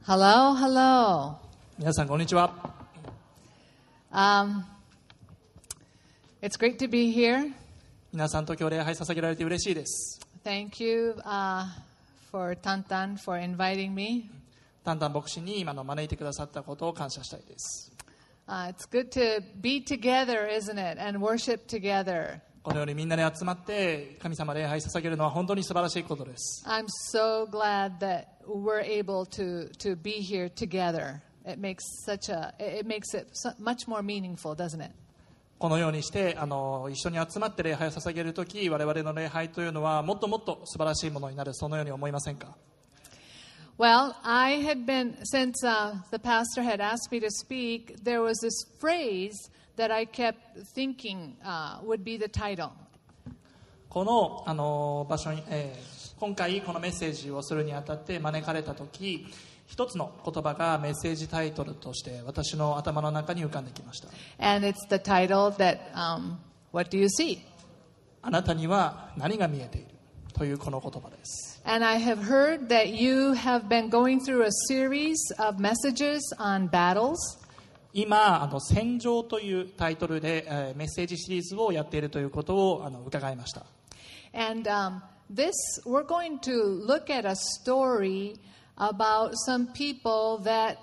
Hello, hello. 皆さんこんにちは。 It's great to be here. 皆さんと今日礼拝捧げられて嬉しいです。 Thank you for Tantan for inviting me. タンタン牧師に今の招いてくださったことを感謝したいです。 It's good to be together, isn't it? And worship together. このようにみんなで集まって神様礼拝捧げるのは本当に素晴らしいことです。 I'm so glad that we're able to be here together. It makes it much more meaningful, doesn't it? このようにして一緒に集まって礼拝を捧げるとき、我々の礼拝というのはもっともっと素晴らしいものになる、そのように思いませんか？ Well, I had been, since the pastor had asked me to speak, there was this phrase that I kept thinking would be the title. この場所に、今回このメッセージをするにあたって招かれたとき、一つの言葉がメッセージタイトルとして私の頭の中に浮かんできました。 And it's the title that, What do you see? あなたには何が見えているというこの言葉です。 And I have heard that you have been going through a series of messages on battles. 今戦場というタイトルで、メッセージシリーズをやっているということを伺いました。 And we're going to look at a story about some people that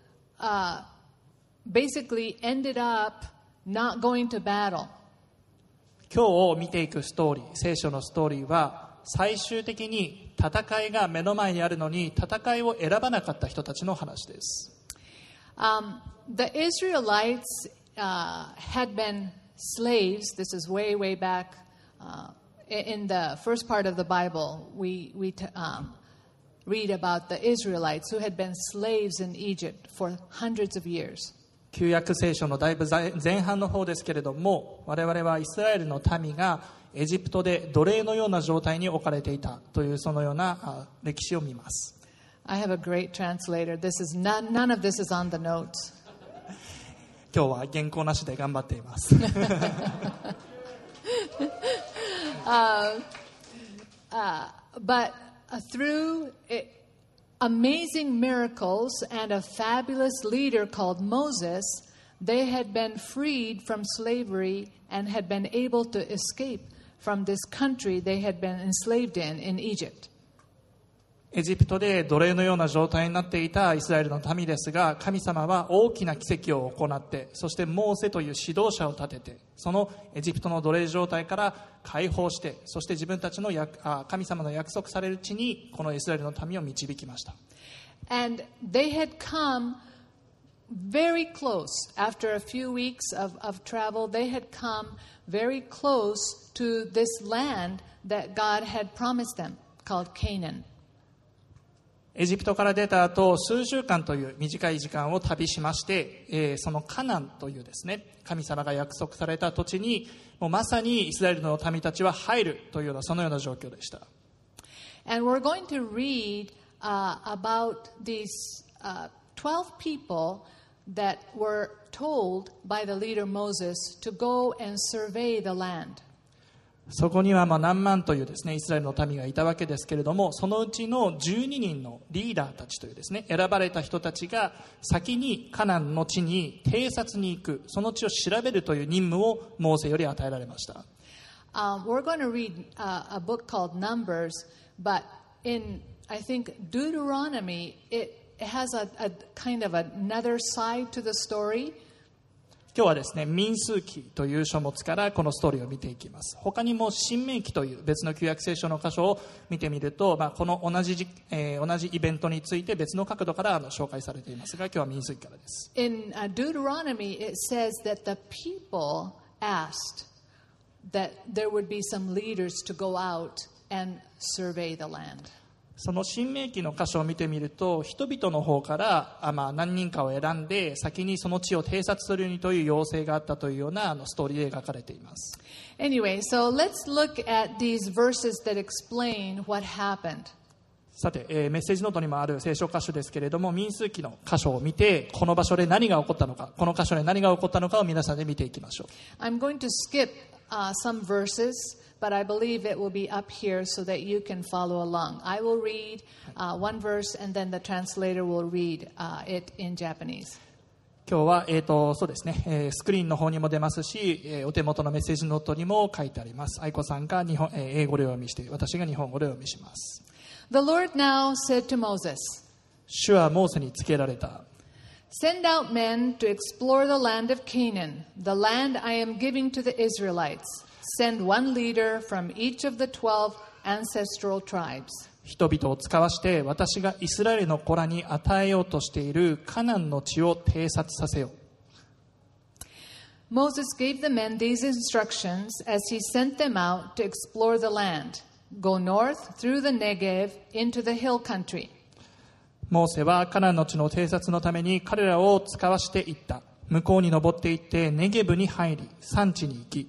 basically ended up not going to battle. 今日見ていくストーリー、聖書のストーリーは最終的に戦いが目の前にあるのに戦いを選ばなかった人たちの話です。 The Israelites had been slaves. This is way, way back in the first part of the Bible. We read about the Israelites who had been slaves in Egypt for hundreds of years. 旧約聖書のだいぶ前半の方ですけれども、我々はイスラエルの民がエジプトで奴隷のような状態に置かれていたというそのような歴史を見ます。 I have a great translator. None of this is on the notes. 今日は原稿なしで頑張っています。 But through amazing miracles and a fabulous leader called Moses, they had been freed from slavery and had been able to escape from this country they had been enslaved in Egypt. エジプトで奴隷のような状態になっていたイスラエルの民ですが、神様は大きな奇跡を行って、そしてモーセという指導者を立てて、そのエジプトの奴隷状態から解放して、そして自分たちの神様の約束される地にこのイスラエルの民を導きました。 And they had come very close. After a few weeks of travel, they had come very close to this land that God had promised them, called Canaan. エジプトから出た後、数週間という短い時間を旅しまして、そのカナンというですね、神様が約束された土地にもうまさにイスラエルの民たちは入るというようなそのような状況でした。 And we're going to read about these 12 people that were told by the leader Moses to go and survey the land. そこには何万というですねイスラエルの民がいたわけですけれども、そのうちの12人のリーダーたちというですね選ばれた人たちが先にカナンの地に偵察に行く、その地を調べるという任務をモーセより与えられました。 We're going to read a book called Numbers, but in I think Deuteronomy it has a kind of another side to the story. 今日はですね民数記という書物からこのストーリーを見ていきます。他にも新明記という別の旧約聖書の箇所を見てみると、この同じイベントについて別の角度から紹介されていますが、今日は民数記からです。 In Deuteronomy it says that the people asked that there would be some leaders to go out and survey the land. その新明記の箇所を見てみると、人々の方から何人かを選んで先にその地を偵察するようにという要請があったというようなストーリーで描かれています。 Anyway, so let's look at these verses that explain what happened. さて、メッセージノートにもある聖書箇所ですけれども、民数記の箇所を見てこの場所で何が起こったのか、この箇所で何が起こったのかを皆さんで見ていきましょう。 I'm going to skip some verses, but I believe it will be up here so that you can follow along. I will read one verse, and then the translator will read it in Japanese. 今日は、そうですね、スクリーンの方にも出ますし、お手元のメッセージノートにも書いてあります。愛子さんが英語でお読みして、私が日本語でお読みします。 The Lord now said to Moses, 主はモーセに告げられた。 Send out men to explore the land of Canaan, the land I am giving to the Israelites. Send one leader from each of the 12 ancestral tribes. 人々を使わして私がイスラエルの子らに与えようとしているカナンの地を偵察させよう。Moses gave the men these instructions as he sent them out to explore the land. Go north through the Negev into the hill country. モーセはカナンの地の偵察のために彼らを使わしていった。向こうに登っていってネゲブに入り山地に行き。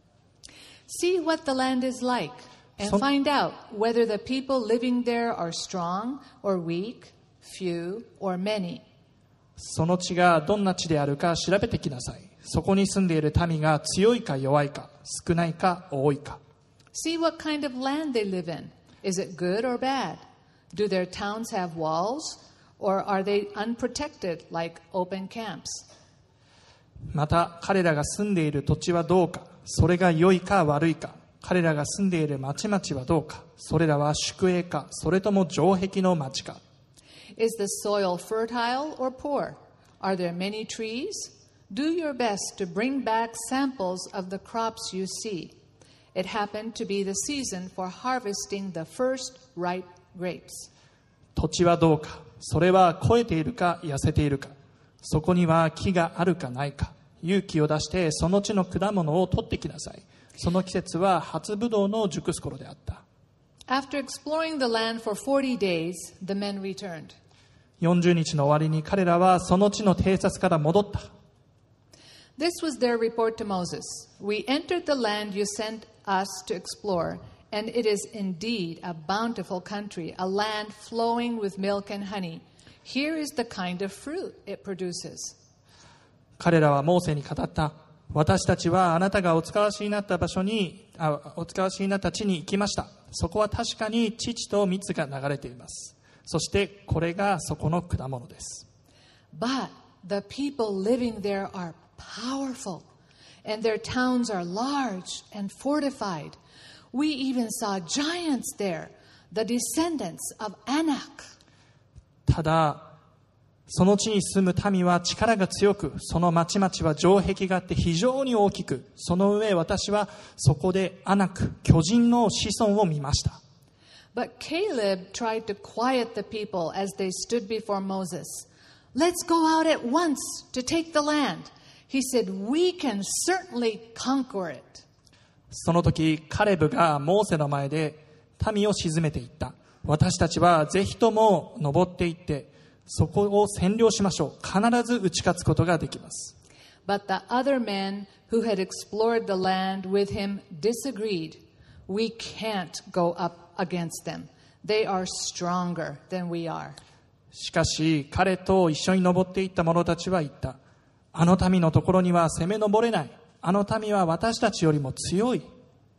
See what the land is like.And find out whether the people living there are strong or weak, few or many. その地がどんな地であるか調べてきなさい。そこに住んでいる民が強いか弱いか、少ないか多いか。 See what kind of land they live in. Is it good or bad? Do their towns have walls, or are they unprotected like open camps? また彼らが住んでいる土地はどうか、それが良いか悪いか。彼らが住んでいる町々はどうか、それらは宿営か、それとも城壁の町か。 Is the soil fertile or poor? Are there many trees? Do your best to bring back samples of the crops you see. It happened to be the season for harvesting the first ripe grapes. 土地はどうか、それは肥えているか痩せているか、そこには木があるかないか。勇気を出してその地の果物を取ってきなさい。その季節は初ブドウの熟す頃であった。 After exploring the land for 40 days, the men returned. 40日の終わりに彼らはその地の偵察から戻った。 This was their report to Moses. We entered the land you sent us to explore, and it is indeed a bountiful country, a land flowing with milk and honey. Here is the kind of fruit it produces. 彼らはモーセに語った。私たちはあなたがお使わしになった地に行きました。そこは確かに乳と蜜が流れています。そしてこれがそこの果物です。 But the people living there are powerful, and their towns are large and fortified. We even saw giants there, the descendants of Anak. ただその地に住む民は力が強く、その町々は城壁があって非常に大きく、その上私はそこでアナク、巨人の子孫を見ました。 But Caleb tried to quiet the people as they stood before Moses. Let's go out at once to take the land. He said, we can certainly conquer it. その時、カレブがモーセの前で民を鎮めていった。私たちはぜひとも登っていって、そこを占領しましょう。必ず打ち勝つことができます。 But the other men who had explored the land with him disagreed. We can't go up against them. They are stronger than we are. しかし彼と一緒に登っていった者たちは言った。あの民のところには攻め上れない。あの民は私たちよりも強い。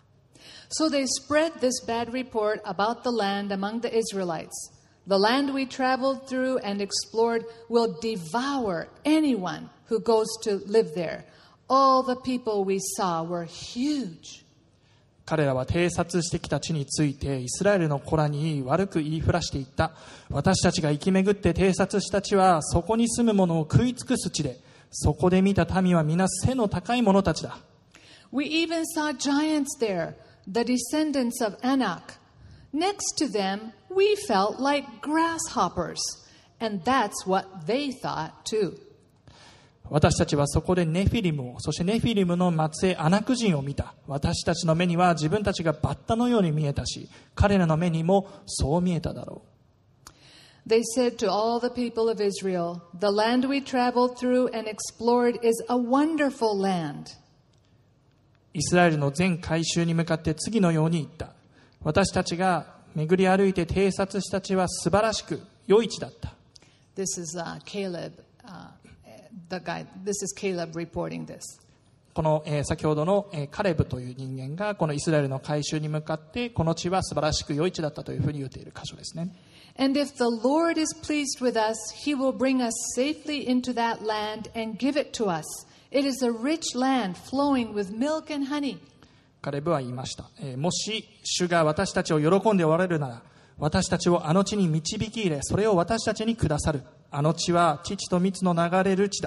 So they spread this bad report about the land among the Israelites.The land we traveled through and explored will devour anyone who goes to live there. All the people we saw were huge. 彼らは偵察してきた地についてイスラエルの子らに悪く言いふらしていった。私たちが生き巡って偵察した地はそこに住む者を食い尽くす地で、そこで見た民は皆背の高い者たちだ。 We even saw giants there, the descendants of Anak.Next to them, we felt like grasshoppers, and that's what they thought too. 私たちはそこでネフィリムを、そしてネフィリムの末裔アナク人を見た。私たちの目には自分たちがバッタのように見えたし、彼らの目にもそう見えただろう。They said to all the people of Israel, the land we traveled through and explored is a wonderful land. イスラエルの全改宗に向かって次のように言った。私たちが巡り歩いて偵察した地は素晴らしく良い地だった。 This is Caleb reporting this. この、先ほどの、カレブという人間がこのイスラエルの改宗に向かってこの地は素晴らしく良い地だったというふうに言っている箇所ですね。 And if the Lord is pleased with us, He will bring us safely into that land and give it to us. It is a rich land flowing with milk and honey. カレブは言いました、もし主が私たちを喜んでおられるなら、私たちをあの地に導き入れ、それを私たちにくださる。あの地は乳と蜜の流れる地だ。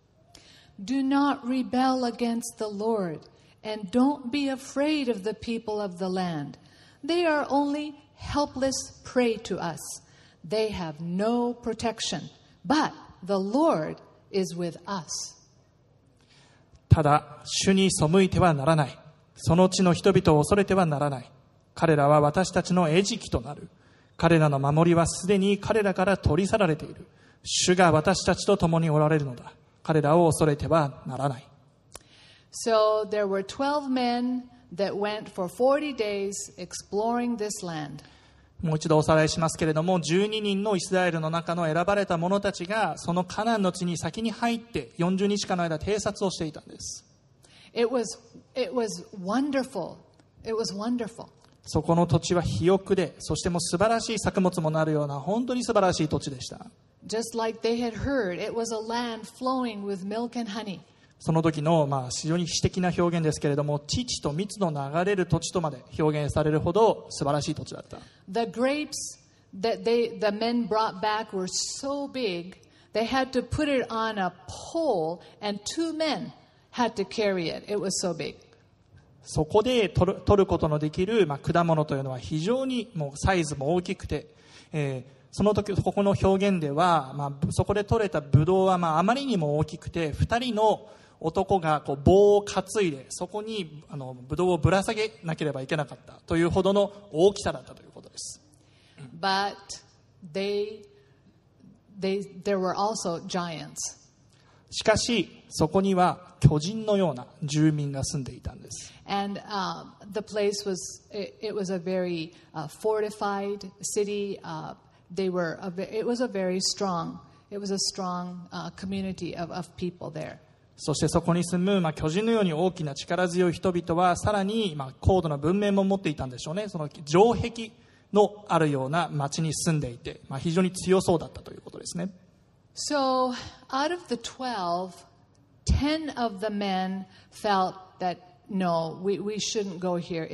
Do not rebel against the Lord, and don't be afraid of the people of the land. They are only helpless prey to us. They have no protection, but the Lord is with us. ただ、主に背いてはならない。その地の人々を恐れてはならない。彼らは私たちの餌食となる。彼らの守りはすでに彼らから取り去られている。主が私たちと共におられるのだ。彼らを恐れてはならない。 So there were 12 men that went for 40 days exploring this land. もう一度おさらいしますけれども、12人のイスラエルの中の選ばれた者たちがそのカナンの地に先に入って40日間の間偵察をしていたんです。 It was wonderful. It was wonderful. そこの土地は肥沃で、そしてもう素晴らしい作物もなるような本当に素晴らしい土地でした。 Just like they had heard, it was a land flowing with milk and honey. その時の非常に詩的な表現ですけれども、乳と蜜の流れる土地とまで表現されるほど素晴らしい土地だった。 The grapes that the men brought back were so big, they had to put it on a pole, and 2 men had to carry it. It was so big. そこで取ることのできる、果物というのは非常にもうサイズも大きくて、その時ここの表現では、そこで取れたブドウはあまりにも大きくて、2人の男がこう棒を担いでそこにブドウをぶら下げなければいけなかったというほどの大きさだったということです。 But there were also giants. しかしそこには巨人のような住民が住んでいたんです。 And the place it was a very fortified city. It was a very strong community of people there. そしてそこに住む、巨人のように大きな力強い人々はさらに、高度な文明も持っていたんでしょうね。その城壁のあるような町に住んでいて、非常に強そうだったということですね。 So out of the 12, 10 of the men felt that no, we shouldn't go here.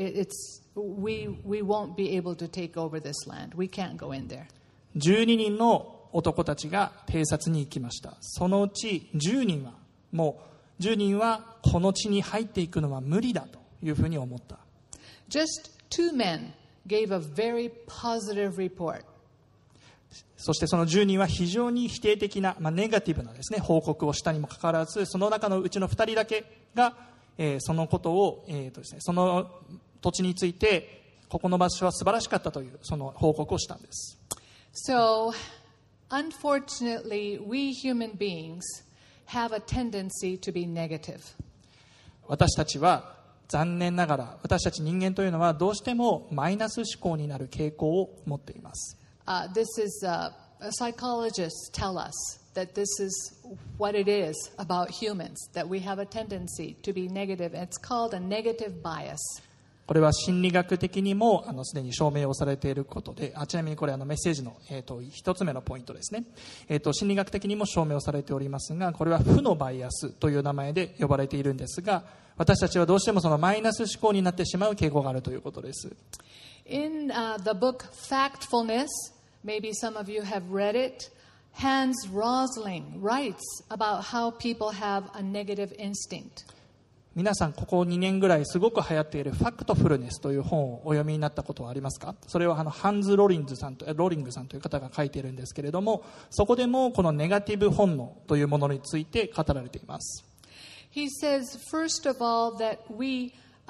We won't be able to take over this land. We can't go in there. 12人の男たちが偵察に行きました。そのうち10人はこの地に入っていくのは無理だというふうに思った。 Just 2 men gave a very positive report. そしてその10人は非常に否定的な、ネガティブなですね、報告をしたにもかかわらず、その中のうちの2人だけが、そのことを、その土地についてここの場所は素晴らしかったというその報告をしたんです。 So, unfortunately, we human beings have a tendency to be negative. 私たちは残念ながら、私たち人間というのはどうしてもマイナス思考になる傾向を持っています。 This is psychologists tell us that this is what it is about humans, that we have a tendency to be negative. It's called a negative bias. これは心理学的にもすでに証明をされていることで、ちなみにこれメッセージの、一つ目のポイントですね。心理学的にも証明をされておりますが、これは負のバイアスという名前で呼ばれているんですが、私たちはどうしてもそのマイナス思考になってしまう傾向があるということです。 In the book Factfulness, maybe some of you have read it, Hans Rosling writes about how people have a negative instinct. 皆さんここ2年ぐらいすごく流行っているファクトフルネスという本をお読みになったことはありますか？それはハンズ・ローリングさんという方が書いているんですけれども、そこでもこのネガティブ本能というものについて語られています。 He says, first of all, that we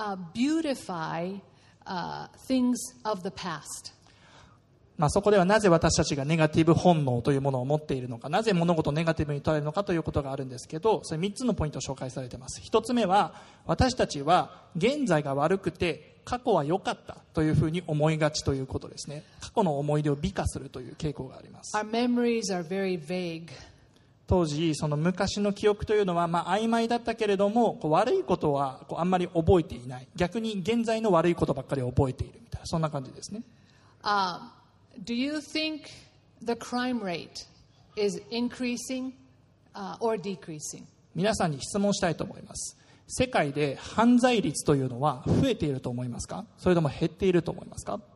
beautify things of the past. そこではなぜ私たちがネガティブ本能というものを持っているのか、なぜ物事をネガティブに捉えるのかということがあるんですけど、それ3つのポイントを紹介されています。1つ目は、私たちは現在が悪くて過去は良かったというふうに思いがちということですね。過去の思い出を美化するという傾向があります。 Our memories are very vague. 当時その昔の記憶というのは曖昧だったけれども、悪いことはあんまり覚えていない、逆に現在の悪いことばっかり覚えているみたいな、そんな感じですね。 Do you think the crime rate is increasing or decreasing? 皆さんに質問したいと思います。世界で犯罪率というのは増えていると思いますか、それとも減っていると思いますか？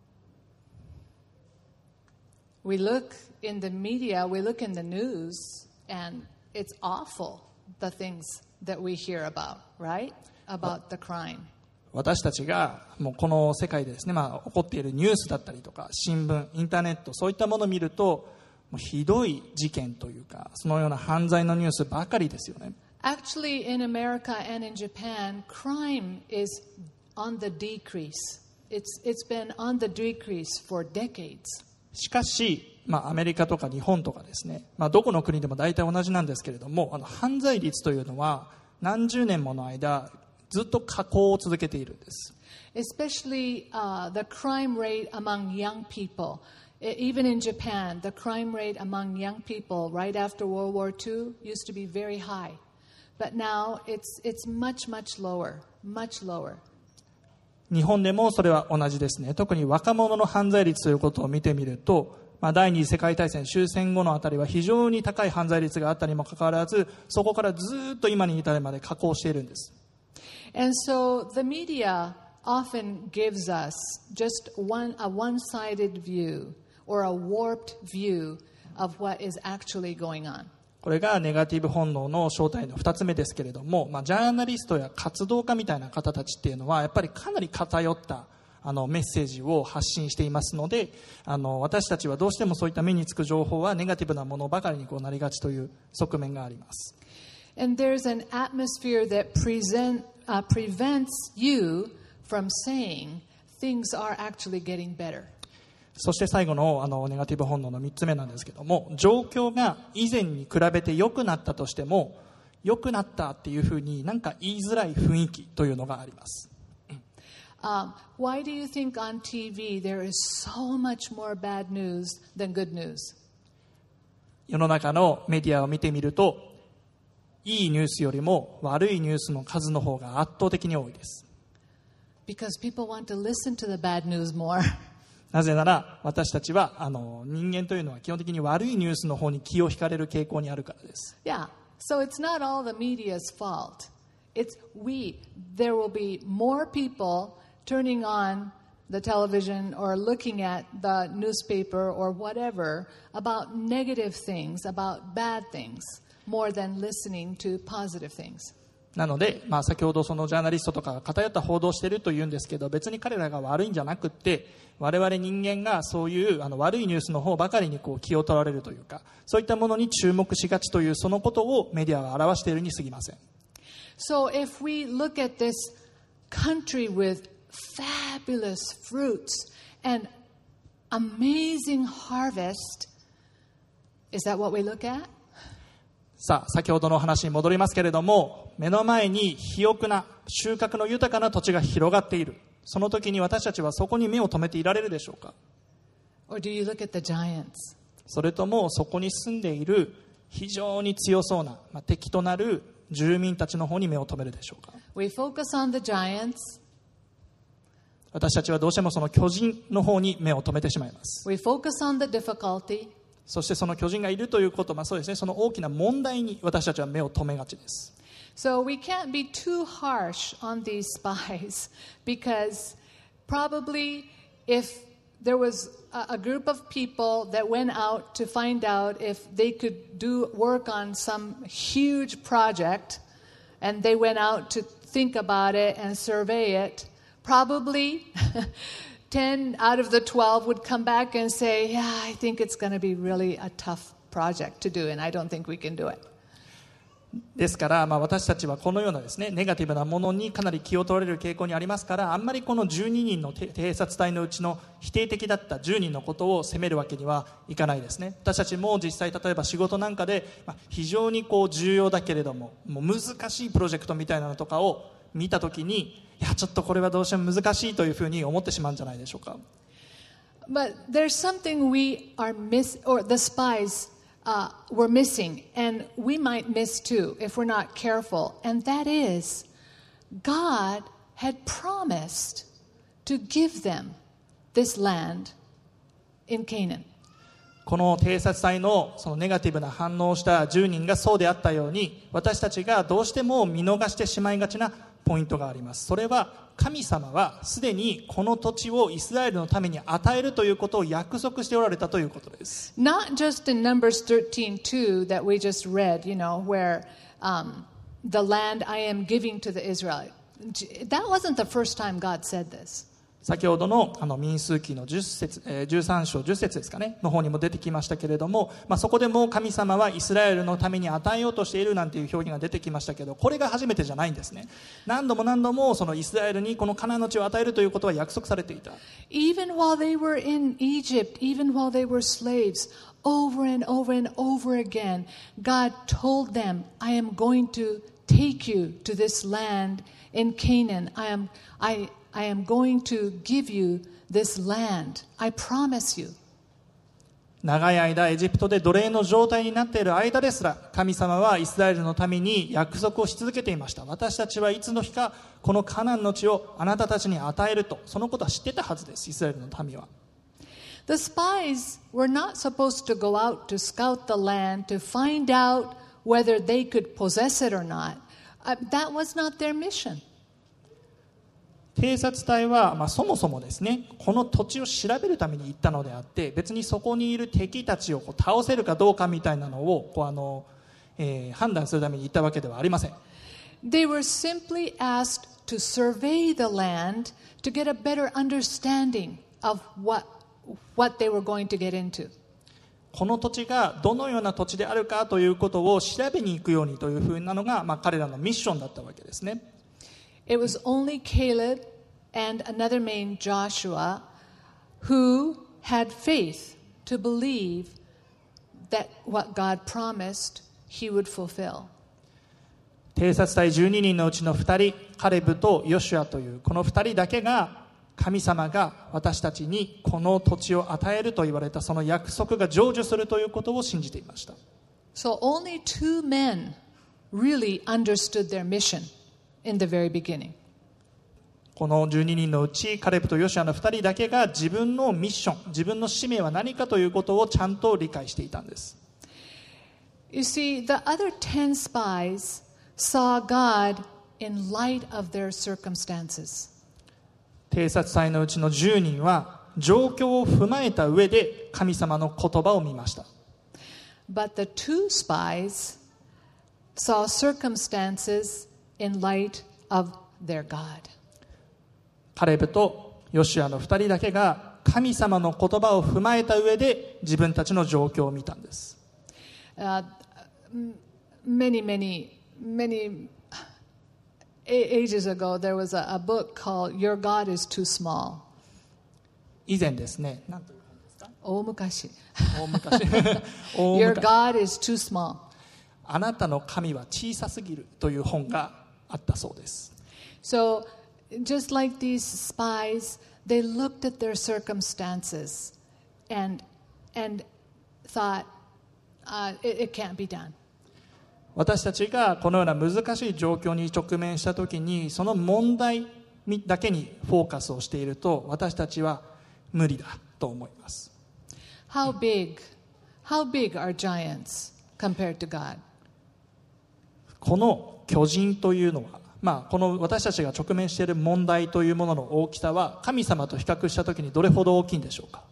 We look in the media, we look in the news, and it's awful, the things that we hear about, right? About the crime. 私たちがもうこの世界でですね、起こっているニュースだったりとか新聞、インターネット、そういったものを見ると、もうひどい事件というか、そのような犯罪のニュースばかりですよね。 Actually, in America and in Japan, crime is on the decrease. It's been on the decrease for decades. しかし、アメリカとか日本とかですね、どこの国でも大体同じなんですけれども、犯罪率というのは何十年もの間ずっと下降を続けているんです。 Especially the crime rate among young people. Even in Japan, the crime rate among young people right after World War II used to be very high. But now it's much, much lower, much lower. 日本でもそれは同じですね。特に若者の犯罪率ということを見てみると、第二次世界大戦終戦後のあたりは非常に高い犯罪率があったにもかかわらず、そこからずっと今に至るまで下降しているんです。 And so the media often gives us just a one-sided view or a warped view of what is actually going on. これがネガティブ本能の正体の2つ目ですけれども、ジャーナリストや活動家みたいな方たちっていうのはやっぱりかなり偏ったメッセージを発信していますので、私たちはどうしてもそういった目につく情報はネガティブなものばかりになりがちという側面があります。 And there's an atmosphere that prevents you from saying things are actually getting better. そして最後のネガティブ本能の3つ目なんですけども、状況が以前に比べて良くなったとしても、良くなったっていうふうになんか言いづらい雰囲気というのがあります。 Why do you think on TV there is so much more bad news than good news? 世の中のメディアを見てみると、いいニュースよりも悪いニュースの数の方が圧倒的に多いです。 Because people want to listen to the bad news more. なぜなら私たちは人間というのは基本的に悪いニュースの方に気を引かれる傾向にあるからです。 Yeah, so it's not all the media's fault. It's there will be more people turning on the television or looking at the newspaper or whatever about negative things, about bad things, more than listening to positive things. なので、先ほどそのジャーナリストとかが偏った報道をしているというんですけど、別に彼らが悪いんじゃなくって、我々人間がそういう悪いニュースの方ばかりに気を取られるというか、そういったものに注目しがちというそのことをメディアは表しているに過ぎません。 So if we look at this country with fabulous fruits and amazing harvest, is that what we look at? さあ、先ほどの話に戻りますけれども、目の前に肥沃な収穫の豊かな土地が広がっている。その時に私たちはそこに目を留めていられるでしょうか？ Or do you look at the giants? それともそこに住んでいる非常に強そうな、敵となる住民たちの方に目を留めるでしょうか？ We focus on the giants. 私たちはどうしてもその巨人の方に目を留めてしまいます。 We focus on the difficulty. そしてその巨人がいるということ、そうですね、その大きな問題に私たちは目を留めがちです。 So we can't be too harsh on these spies because probably if there was a group of people that went out to find out if they could do work on some huge project and they went out to think about it and survey it, probably 10 out of the 12 would come back and say, yeah, I think it's going to be really a tough project to do and I don't think we can do it. ですから、私たちはこのようなですね、ネガティブなものにかなり気を取られる傾向にありますから、あんまりこの12人の偵察隊のうちの否定的だった10人のことを責めるわけにはいかないですね。私たちも実際例えば仕事なんかで、非常に重要だけれども、もう難しいプロジェクトみたいなのとかを見たときに、いやちょっとこれはどうしても難しいというふうに思ってしまうんじゃないでしょうか。 But there's something we are or the spies we're missing, and we might miss too if we're not careful. And that is, God had promised to give them this land in Canaan. この偵察隊のそのネガティブな反応をした10人がそうであったように、私たちがどうしても見逃してしまいがちなポイントがあります。それは神様はすでにこの土地をイスラエルのために与えるということを約束しておられたということです。 Not just in Numbers 13:2 that we just read, where the land I am giving to the Israelites. That wasn't the first time God said this. 先ほどの民数記の13章10節ですかねの方にも出てきましたけれども、そこでも神様はイスラエルのために与えようとしているなんていう表現が出てきましたけど、これが初めてじゃないんですね。何度もそのイスラエルにこのカナンの地を与えるということは約束されていた。 Even while they were in Egypt, even while they were slaves, over and over and over again, God told them, I am going to take you to this land in Canaan. I am going to give you this land. I promise you. 長い間エジプトで奴隷の状態になっている間ですら、神様はイスラエルのために約束をし続けていました。私たちはいつの日かこのカナンの地をあなたたちに与えると、そのことは知ってたはずです。イスラエルの民は。 The spies were not supposed to go out to scout the land to find out whether they could possess it or not. That was not their mission. 偵察隊は、そもそもですね、この土地を調べるために行ったのであって、別にそこにいる敵たちを倒せるかどうかみたいなのを判断するために行ったわけではありません。 They were simply asked to survey the land to get a better understanding of what they were going to get into. この土地がどのような土地であるかということを調べに行くようにというふうなのが、彼らのミッションだったわけですね。 It was only Caleb and another man, Joshua, who had faith to believe that what God promised, he would fulfill. 偵察隊12人のうちの2人、カレブとヨシュアというこの2人だけが、神様が私たちにこの土地を与えると言われたその約束が成就するということを信じていました。 So only 2 men really understood their mission in the very beginning. この12人のうちカレブとヨシュアの2人だけが自分のミッション、自分の使命は何かということをちゃんと理解していたんです。 You see, the other 10 spies saw God in light of their circumstances. 偵察隊のうちの10人は状況を踏まえた上で神様の言葉を見ました。 But the 2 spies saw circumstances in light of their God. カレブとヨシュアの2人だけが神様の言葉を踏まえた上で自分たちの状況を見たんです。 Many ages ago, there was a book called Your God is Too Small. 以前ですね、何という本ですか？ 大昔。 大昔 Your God is too small. あなたの神は小さすぎるという本があったそうです。 So, just like these spies, they looked at their circumstances and thought, it can't be done. 私たちがこのような難しい状況に直面したときに、その問題だけにフォーカスをしていると、私たちは無理だと思います。 How big are giants compared to God? この巨人というのは、この私たちが直面している問題というものの大きさは神様と比較したときにどれほど大きいんでしょうか？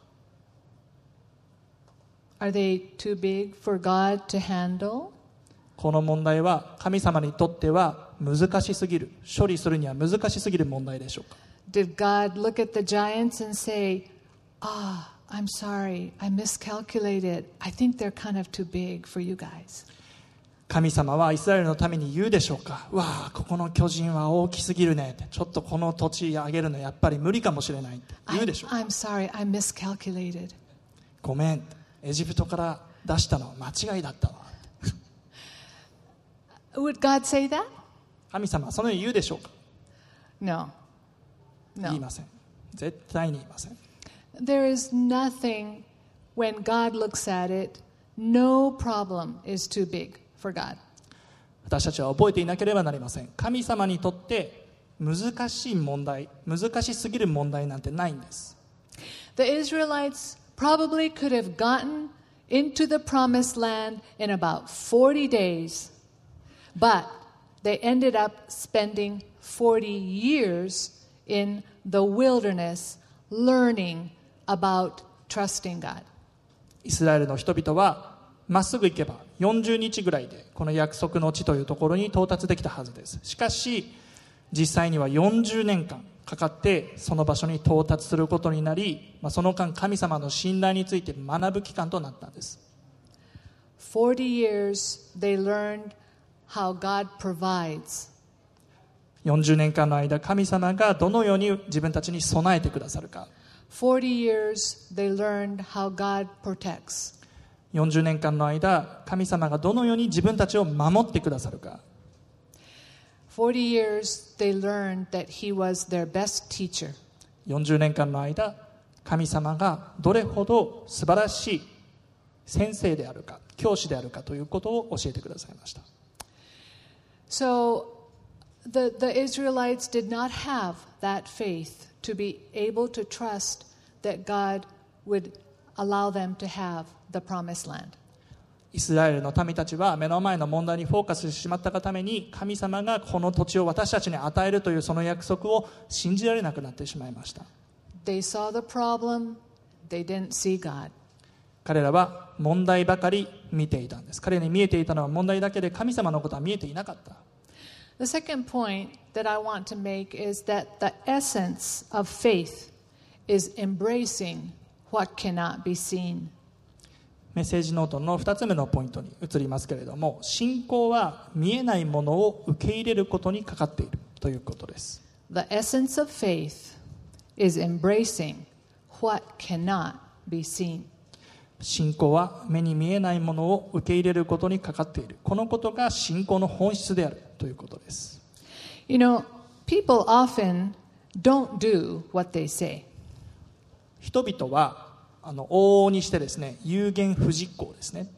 Are they too big for God to handle? この問題は神様にとっては難しすぎる、処理するには難しすぎる問題でしょうか？ Did God look at the giants and say, I'm sorry, I miscalculated. I think they're kind of too big for you guys. 神様はイスラエルのために言うでしょうか？わあ、ここの巨人は大きすぎるねって、ちょっとこの土地あげるのやっぱり無理かもしれないって言うでしょうか？ I'm sorry, I miscalculated. ごめん、エジプトから出したのは間違いだったわ。 Would God say that? 神様はそのように言うでしょうか？ No. 言いません。絶対に言いません。 There is nothing, when God looks at it, No problem is too big for God. 私たちは覚えていなければなりません。神様にとって難しい問題、難しすぎる問題なんてないんです。 The Israelites probably could have gotten into the promised land in about 40 days, but they ended up spending 40 years in the wilderness learning about trusting God. イスラエルの人々はまっすぐ行けば40日ぐらいでこの約束の地というところに到達できたはずです。しかし実際には40年間かかってその場所に到達することになり、その間神様の信頼について学ぶ期間となったんです。 40 years they learned how God provides. 40年間の間神様がどのように自分たちに備えてくださるか。 40 years they learned how God protects. 40年間の間神様がどのように自分たちを守ってくださるか。 40 years they learned that He was their best teacher. 40年間の間神様がどれほど素晴らしい先生であるか教師であるかということを教えてくださいました。 So the Israelites did not have that faith to be able to trust that God would allow them to have the promised land. イスラエルの民たちは目の前の問題にフォーカスしてしまったがために神様がこの土地を私たちに与えるというその約束を信じられなくなってしまいました。 They saw the problem, they didn't see God. 彼らは問題ばかり見ていたんです。彼に見えていたのは問題だけで神様のことは見えていなかった。 The second point that I want to make is that the essence of faith is embracing what cannot be seen. メッセージノートの2つ目のポイントに移りますけれども、信仰は見えないものを受け入れることにかかっているということです。 The essence of faith is embracing what cannot be seen. 信仰は目に見えないものを受け入れることにかかっている。このことが信仰の本質であるということです。 You know, people often don't do what they say. 人々は往々にしてですね、有言不実行ですね。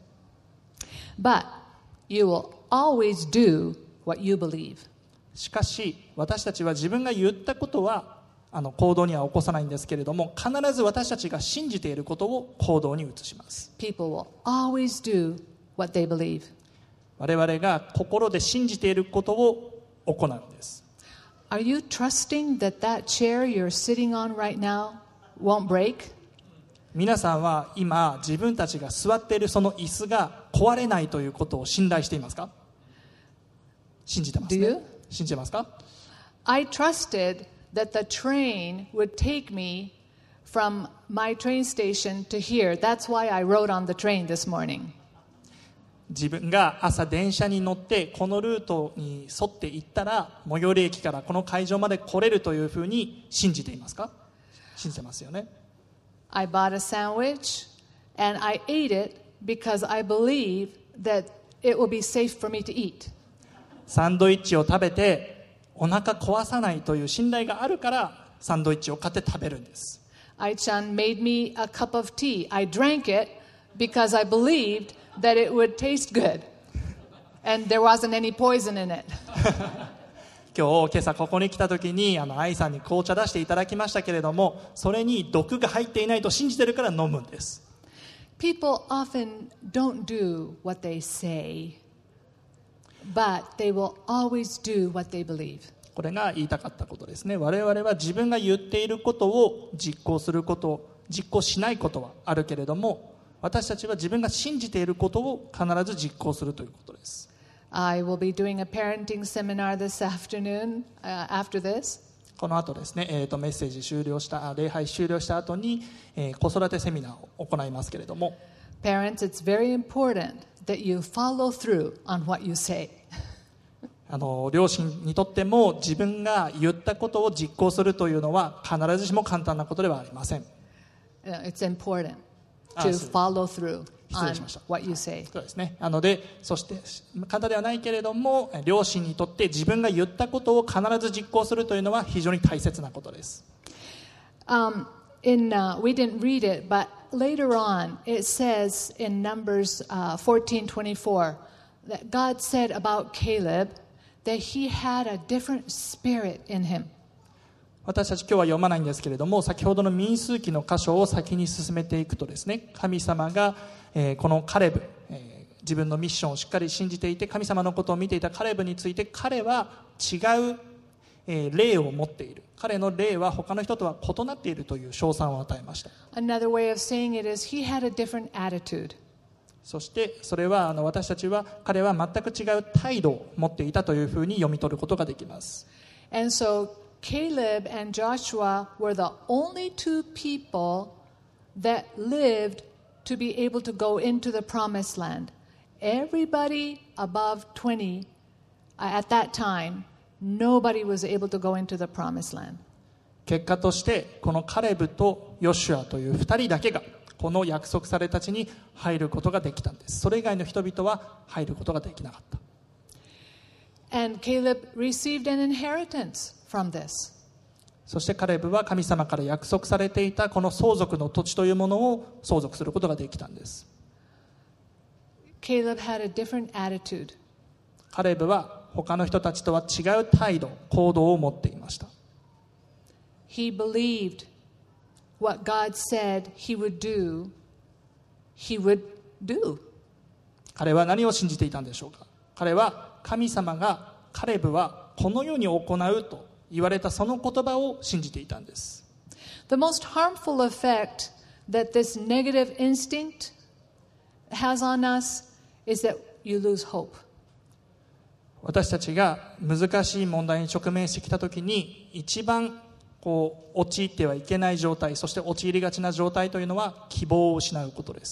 But you will always do what you believe. しかし私たちは自分が言ったことは行動には起こさないんですけれども、必ず私たちが信じていることを行動に移します。 People will always do what they believe. 我々が心で信じていることを行うんです。 Are you trusting that that chair you're sitting on right now won't break? 皆さんは今自分たちが座っているその椅子が壊れないということを信頼していますか？信じてます Do ね you? 信じてますか？ I trusted that the train would take me from my train station to here. That's why I rode on the train this morning. 自分が朝電車に乗ってこのルートに沿って行ったら最寄り駅からこの会場まで来れるというふうに信じていますか？信じてますよね。 I bought a sandwich and I ate it because I believe that it will be safe for me to eat. サンドイッチを食べてお腹壊さないという信頼があるからサンドイッチを買って食べるんです。 Ai-chan made me a cup of tea. I drank it because I believed that it would taste good and there wasn't any poison in it. 今朝ここに来た時に愛さんに紅茶出していただきましたけれども、それに毒が入っていないと信じてるから飲むんです。 People often don't do what they say, but they will always do what they believe. これが言いたかったことですね。我々は自分が言っていることを実行すること、実行しないことはあるけれども、私たちは自分が信じていることを必ず実行するということです。 I will be doing a parenting seminar this afternoon after this. この後ですね、メッセージ終了した礼拝終了した後に、子育てセミナーを行いますけれども、 Parents, it's very important that you follow through on what you say. 両親にとっても自分が言ったことを実行するというのは必ずしも簡単なことではありません。 It's important to follow through 失礼 on しました。 what you say. そうですね。そして簡単ではないけれども、両親にとって自分が言ったことを必ず実行するというのは非常に大切なことです。 We didn't read it, but later on, it says in Numbers 14:24 that God said about Caleb that he had a different spirit in him. 私たち今日は読まないんですけれども、先ほどの民数記の箇所を先に進めていくとですね、神様が、このカレブ、自分のミッションをしっかり信じていて神様のことを見ていたカレブについて、彼は違う、霊を持っている、彼の霊は他の人とは異なっているという称賛を与えました。 Another way of saying it is he had a different attitude. そしてそれは私たちは彼は全く違う態度を持っていたというふうに読み取ることができます。 And so Caleb and Joshua were the only two people that lived to be able to go into the promised land. Everybody above 20 at that time, nobody was able to go into the promised land. 結果としてこのカレブとヨシュアという2人だけがこの約束された地に入ることができたんです。それ以外の人々は入ることができなかった。 And Caleb received an inheritance from this. そしてカレブは神様から約束されていたこの相続の土地というものを相続することができたんです。 Caleb had a different attitude. カレブは他の人たちとは違う態度、行動を持っていました。 He believed what God said he would do, he would do. 彼は何を信じていたんでしょうか。彼は神様がカレブはこのように行うと言われたその言葉を信じていたんです。 The most harmful effect that this negative instinct has on us is that you lose hope. 私たちが難しい問題に直面してきたときに一番陥ってはいけない状態、そして陥りがちな状態というのは希望を失うことです。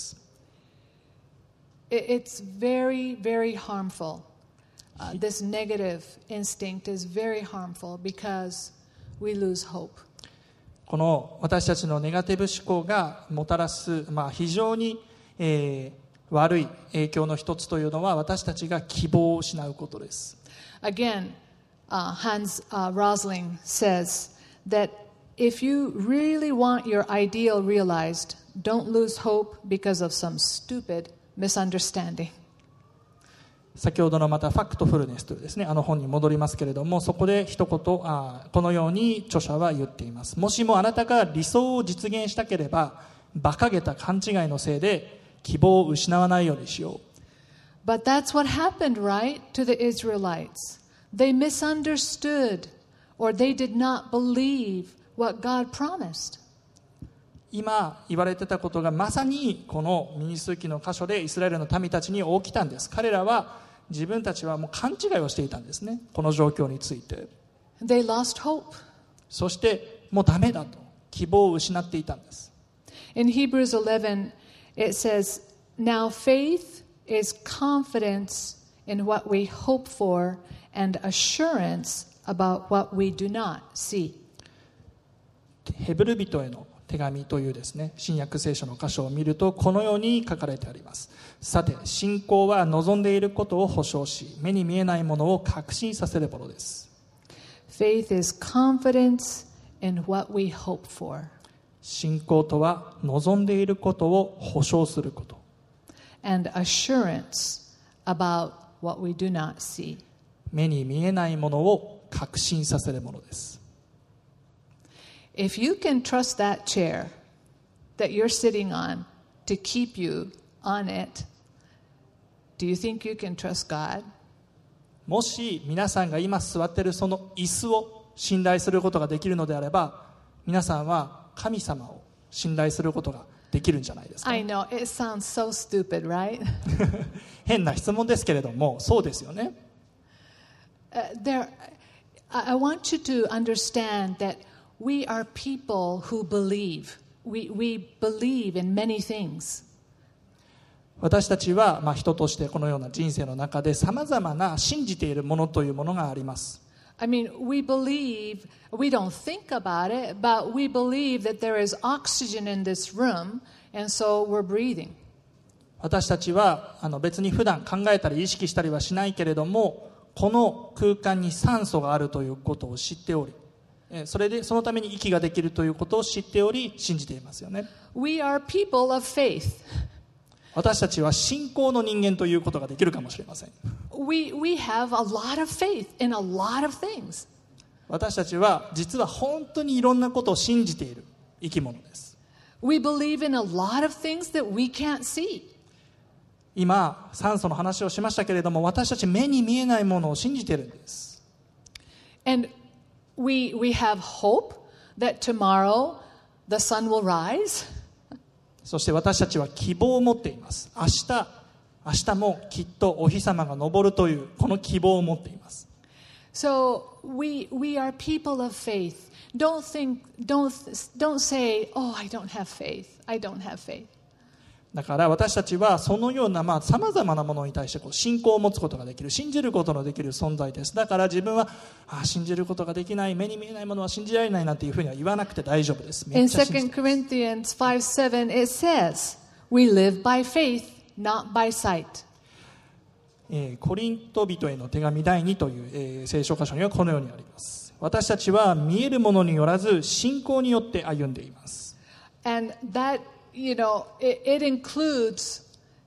It's very, very harmful. This negative instinct is very harmful because we lose hope. この私たちのネガティブ思考がもたらす、非常に、悪い影響の一つというのは私たちが希望を失うことです。 Again, Hans Rosling says that if you really want your ideal realized, don't lose hope because of some stupid misunderstanding. 先ほどのまたファクトフルネスというですね、本に戻りますけれども、そこで一言このように著者は言っています。もしもあなたが理想を実現したければ馬鹿げた勘違いのせいで希望を失わないようにしよう。 But that's what happened, right, to the Israelites. They misunderstood or they did not believe what God promised. 今言われてたことがまさにこの民数記の箇所でイスラエルの民たちに起きたんです。彼らは自分たちはもう勘違いをしていたんですね、この状況について。 They lost hope. そしてもうダメだと希望を失っていたんです。 In Hebrews 11, it says, Now faith is confidence in what we hope for and assurance about what we do not see. ヘブル人への手紙というですね、新約聖書の箇所を見るとこのように書かれてあります。さて信仰は望んでいることを保証し、目に見えないものを確信させるものです。 Faith is confidence in what we hope for. 信仰とは望んでいることを保証すること。 And assurance about what we do not see. 目に見えないものを確信させるものです。 If you can trust that chair that you're sitting on to keep you on it, do you think you can trust God? もし皆さんが今座っているその椅子を信頼することができるのであれば、皆さんは神様を信頼することができるんじゃないですか。 I know, it sounds so stupid, right? 変な質問ですけれども、そうですよね。 I want you to understand that we are people who believe. We believe in many things. 私たちは人としてこのような人生の中でさまざまな信じているものというものがあります。 I mean, we believe, we don't think about it, but we believe that there is oxygen in this room, and so we're breathing. 私たちは別に普段考えたり意識したりはしないけれども、この空間に酸素があるということを知っており、 そのために息ができるということを知っており信じていますよね。 We are people of faith. 私たちは信仰の人間ということができるかもしれません。 We have a lot of faith in a lot of things. 私たちは実は本当にいろんなことを信じている生き物です。 We believe in a lot of things that we can't see. 今酸素の話をしましたけれども、私たち目に見えないものを信じているんです。 And we have hope that tomorrow the sun will rise. そして私たちは希望を持っています。明日もきっとお日様が昇るというこの希望を持っています。 So we are people of faith. Don't say, oh, I don't have faith. I don't have faith. だから私たちはそのようなさまざまなものに対して信仰を持つことができる、信じることのできる存在です。だから自分は信じることができない、目に見えないものは信じられないなんていうふうには言わなくて大丈夫です。め In っちゃ信じ 2 て Corinthians 5:7, it says, we live by faith, not by sight. コリント人への手紙第2という、聖書箇所にはこのようにあります。私たちは見えるものによらず信仰によって歩んでいます。 And that, it includes,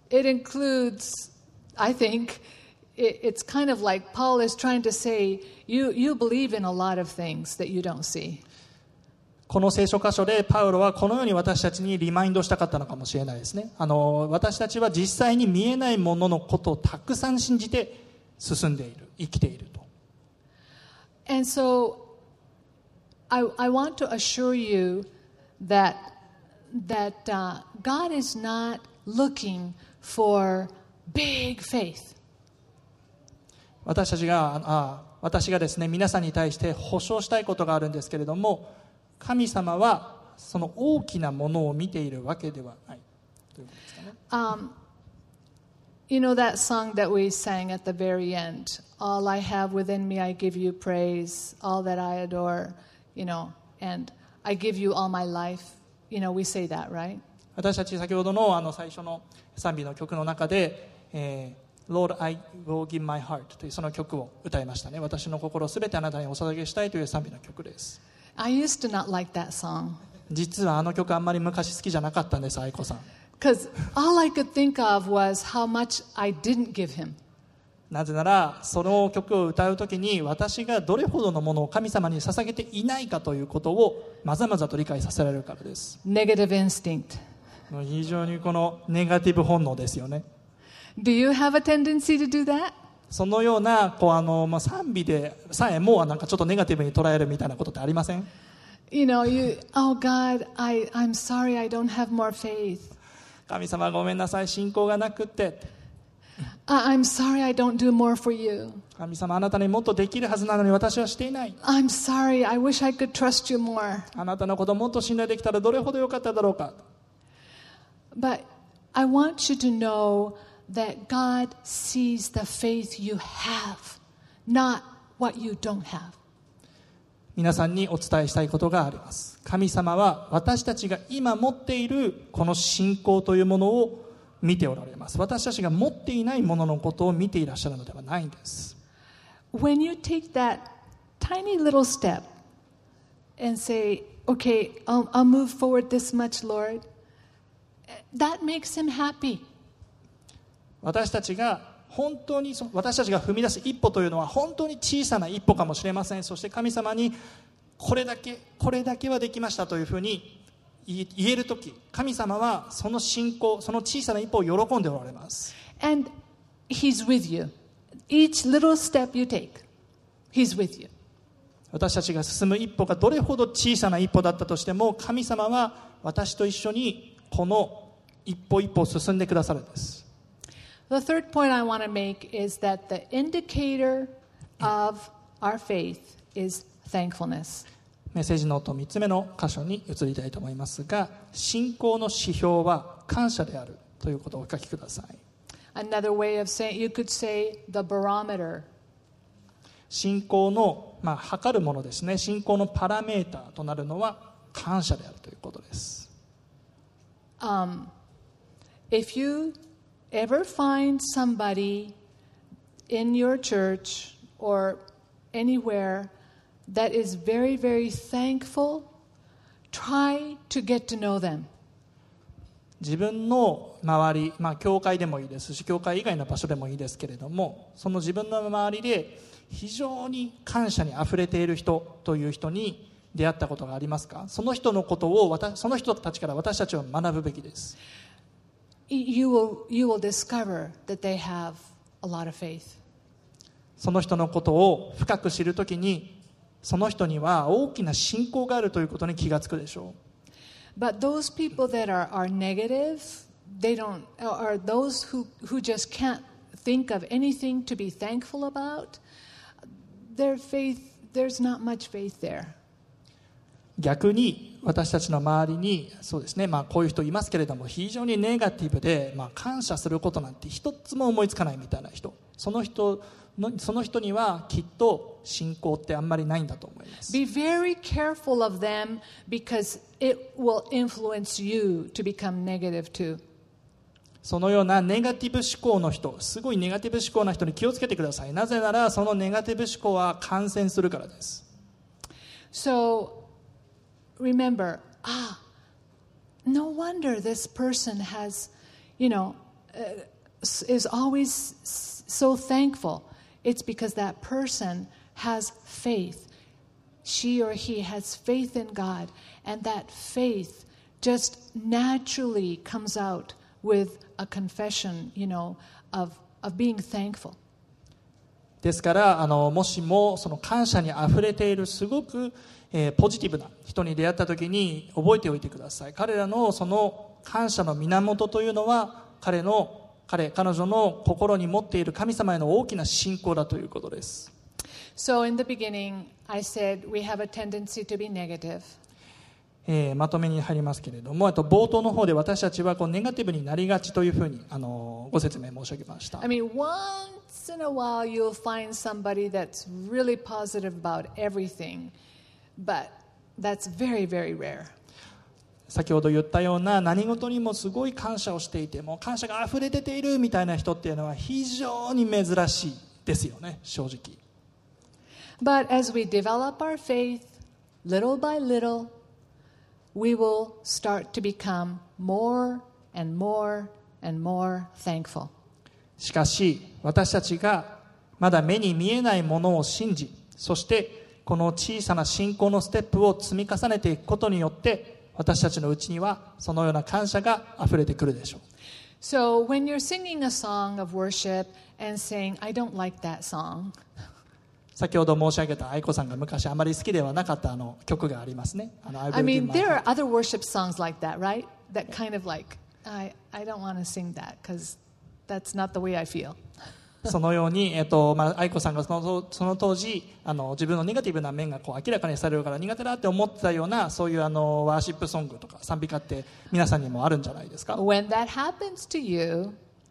I think, it's kind of like Paul is trying to say, you believe in a lot of things that you don't see. この聖書箇所でパウロはこのように私たちにリマインドしたかったのかもしれないですね。私たちは実際に見えないもののことをたくさん信じて進んでいる、生きていると。 And so I want to assure you that God is not looking for big faith. 私がですね、皆さんに対して保証したいことがあるんですけれども、神様はその大きなものを見ているわけではないということですかね。 You know that song that we sang at the very end, all I have within me I give you praise, all that I adore, and I give you all my life. We say that, right? 私たち先ほどの最初の賛美の曲の中で、Lord, I will give my heart というその曲を歌いましたね。私の心をすべてあなたにお捧げしたいという賛美の曲です。 I used to not like that song. 実は曲あんまり昔好きじゃなかったんです、愛子さん。 Because all I could think of was how much I didn't give him. なぜならその曲を歌うときに私がどれほどのものを神様に捧げていないかということをまざまざと理解させられるからです。 Negative instinct. 非常にこのネガティブ本能ですよね。 Do you have a tendency to do that? そのような賛美でさえもなんかちょっとネガティブに捉えるみたいなことってありません？ Oh God, I'm sorry I don't have more faith. 神様ごめんなさい、信仰がなくって。 I'm sorry I don't do more for you. 神様あなたにもっとできるはずなのに私はしていない。 I'm sorry, I wish I could trust you more. あなたのことをもっと信頼できたらどれほどよかっただろうか。 But I want you to know that God sees the faith you have, not what you don't have. 皆さんにお伝えしたいことがあります。神様は私たちが今持っているこの信仰というものを見ておられます。私たちが持っていないもののことを見ていらっしゃるのではないんです。 When you take that tiny little step and say, okay, I'll move forward this much, Lord, that makes him happy. 私たちが踏み出す一歩というのは本当に小さな一歩かもしれません。そして神様にこれだけはできましたというふうに言えるとき、神様はその信仰、その小さな一歩を喜んでおられます。 And he's with you. Each little step you take, he's with you. 私たちが進む一歩がどれほど小さな一歩だったとしても、神様は私と一緒にこの一歩一歩を進んでくださるんです。 The third point I want to make is that the indicator of our faith is thankfulness. メッセージノート3つ目の箇所に移りたいと思いますが、信仰の指標は感謝であるということをお書きください。 Another way of saying, you could say the barometer. 信仰の、測るものですね。信仰のパラメーターとなるのは感謝であるということです。 If you ever find somebody in your church or anywhere that is very, very thankful, try to get to know them. 自分の周り、教会でもいいですし教会以外の場所でもいいですけれども、その自分の周りで非常に感謝にあふれている人という人に出会ったことがありますか？その人のことをその人たちから私たちは学ぶべきです。 You will discover that they have a lot of faith. その人のことを深く知るときに、その人には大きな信仰があるということに気がつくでしょう。 But those people that are negative, they don't, or those who just can't think of anything to be thankful about, their faith, there's not much faith there. 逆に私たちの周りにそうですね、こういう人いますけれども非常にネガティブで、感謝することなんて一つも思いつかないみたいな人、その人にはきっと信仰ってあんまりないんだと思います。 Be very careful of them because it will influence you to become negative too. そのようなネガティブ思考の人、すごいネガティブ思考な人に気をつけてください。なぜならそのネガティブ思考は感染するからです。 So remember, no wonder this person has, is always so thankful. It's because that person has faith. She or he has faith in God, and that faith just naturally comes out with a confession, of being thankful. ですからもしもその感謝にあふれているすごくポジティブな人に出会った時に覚えておいてください。彼らのその感謝の源というのは彼女の心に持っている神様への大きな信仰だということです。 So in the beginning, I said we have a tendency to be negative. まとめに入りますけれども、冒頭の方で私たちはネガティブになりがちというふうにご説明申し上げました。 I mean, once in a while you'll find somebody that's really positive about everything, but that's very, very rare. 先ほど言ったような何事にもすごい感謝をしていても感謝があふれ出ているみたいな人っていうのは非常に珍しいですよね、正直。 But as we develop our faith, little by little, we will start to become more and more and more thankful. しかし私たちがまだ目に見えないものを信じ、そしてこの小さな信仰のステップを積み重ねていくことによって私たちのうちにはそのような感謝があふれてくるでしょう。 So when you're singing a song of worship and saying, I don't like that song, 先ほど申し上げた愛子さんが昔あまり好きではなかった曲がありますね。 I mean, there are other worship songs like that, right? That kind of like, I don't want to sing that because that's not the way I feel. そのように、愛子さんがその当時自分のネガティブな面が明らかにされるから苦手だって思ってたようなそういうワーシップソングとか賛美歌って皆さんにもあるんじゃないですか。 When that happens to you,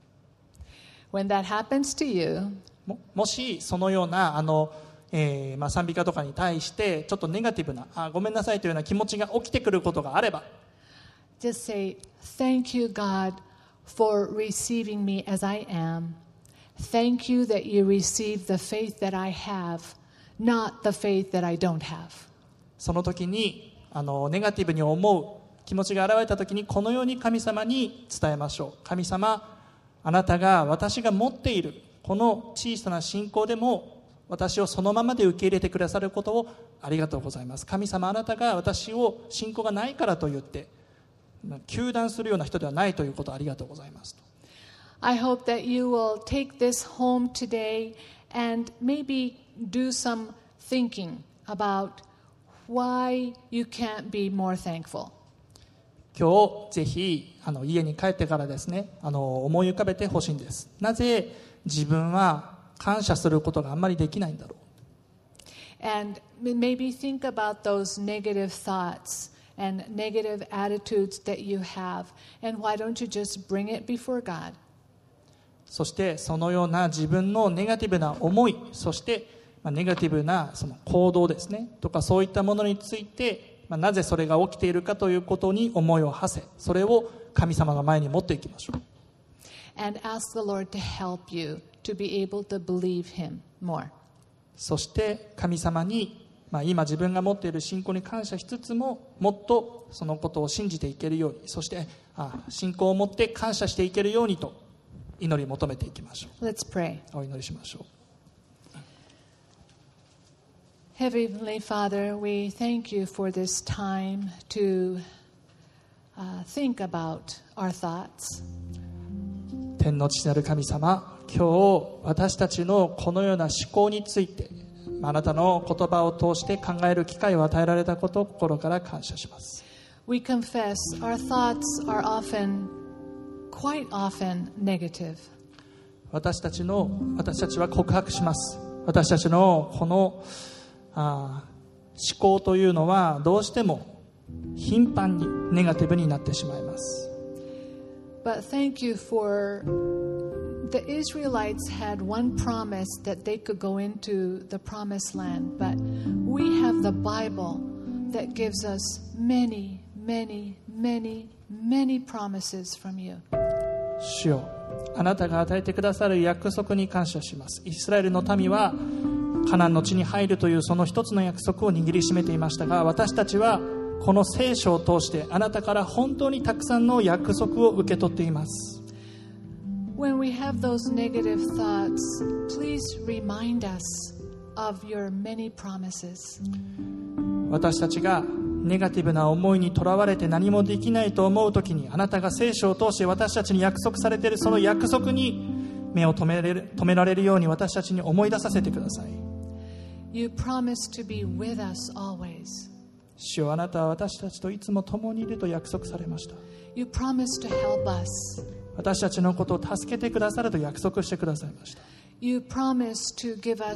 もしそのような賛美歌とかに対してちょっとネガティブなごめんなさいというような気持ちが起きてくることがあれば just say, Thank you, God, for receiving me as I am. Thank you that you receive the faith that I have, not the faith that I don't have. その時にネガティブに思う気持ちが現れた時にこのように神様に伝えましょう。神様、あなたが私が持っているこの小さな信仰でも私をそのままで受け入れてくださることをありがとうございます。神様、あなたが私を信仰がないからと言って糾弾するような人ではないということをありがとうございますと。 I hope that you will take this home today and maybe do some thinking about why you can't be more thankful. 今日ぜひ家に帰ってからですね思い浮かべてほしいんです。なぜ自分は感謝することがあんまりできないんだろう。 And maybe think about those negative thoughts and negative attitudes that you have, and why don't you just bring it before God? そしてそのような自分のネガティブな思い、そしてネガティブなその行動ですねとかそういったものについてなぜそれが起きているかということに思いを馳せ、それを神様の前に持っていきましょう。 And ask the Lord to help you to be able to believe Him more. そして神様に今自分が持っている信仰に感謝しつつも、もっとそのことを信じていけるように、そして信仰を持って感謝していけるようにと祈り求めていきましょう。 Let's pray. お祈りしましょう。 Heavenly Father, we thank you for this time to think about our thoughts. 天の父なる神様、今日私たちのこのような思考についてあなたの言葉を通して考える機会を与えられたことを心から感謝します。 We confess our thoughts are quite often negative. 私たちは告白します。私たちのこの思考というのはどうしても頻繁にネガティブになってしまいます。 But thank you for the Israelites had one promise that they could go into the promised land, but we have the Bible that gives us many, many, many, many promises from you. 主よ、あなたが与えてくださる約束に感謝します。イスラエルの民はカナンの地に入るというその一つの約束を握りしめていましたが、私たちはこの聖書を通してあなたから本当にたくさんの約束を受け取っています。 When we have those negative thoughts, please remind us of your many promises. 私たちがネガティブな思いにとらわれて何もできないと思うときに、あなたが聖書を通して私たちに約束されているその約束に目を止められるように私たちに思い出させてください。 You promise to be with us always. 主よ、あなたは私たちといつも共にいると約束されました。 You promise to help us. 私たちのことを助けてくださると約束してくださいました。 You promise to give us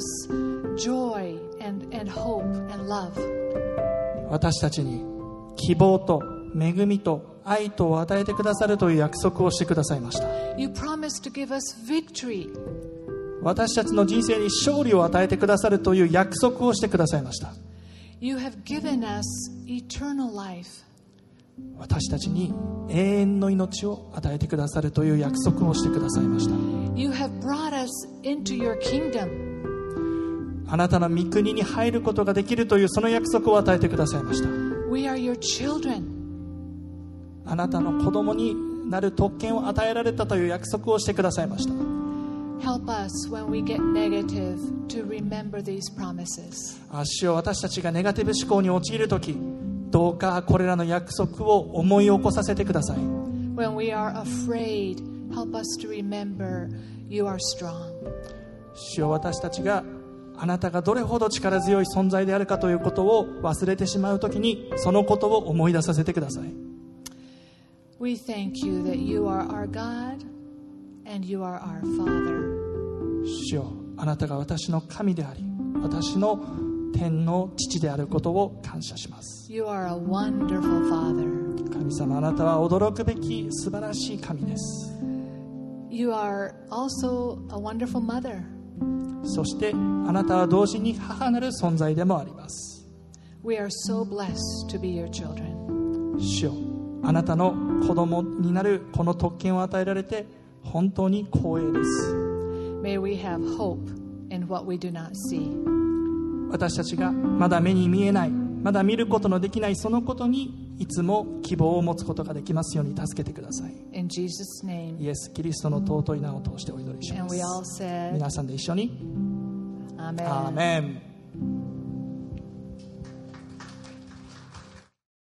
joy and hope and love. 私たちに希望と恵みと愛とを与えてくださるという約束をしてくださいました。 You promise to give us victory. 私たちの人生に勝利を与えてくださるという約束をしてくださいました。 You have given us eternal life. 私たちに永遠の命を与えてくださるという約束をしてくださいました。 You have brought us into your kingdom. あなたの御国に入ることができるというその約束を与えてくださいました。 We are your children. あなたの子供になる特権を与えられたという約束をしてくださいました。 Help us when we get negative to remember these promises. 主よ、私たちがネガティブ思考に陥るとき、どうかこれらの約束を思い起こさせてください。 When we are afraid, help us to remember you are strong. 主よ、私たちがあなたがどれほど力強い存在であるかということを忘れてしまうときに、そのことを思い出させてください。 We thank you that you are our God and you are our Father. 主よ、あなたが私の神であり、私の天の父であることを感謝します。 You are a wonderful Father. 神様、あなたは驚くべき素晴らしい神です。 You are also a wonderful mother. そしてあなたは同時に母なる存在でもあります。 We are so blessed to be your children. 主よ、あなたの子供になるこの特権を与えられて本当に光栄です。 May we have hope in what we do not see. 私たちがまだ目に見えない、まだ見ることのできないそのことにいつも希望を持つことができますように助けてください。 In Jesus' name. イエス・キリストの尊い名を通してお祈りしま And す。 we all said, 皆さんで一緒に Amen. アーメン。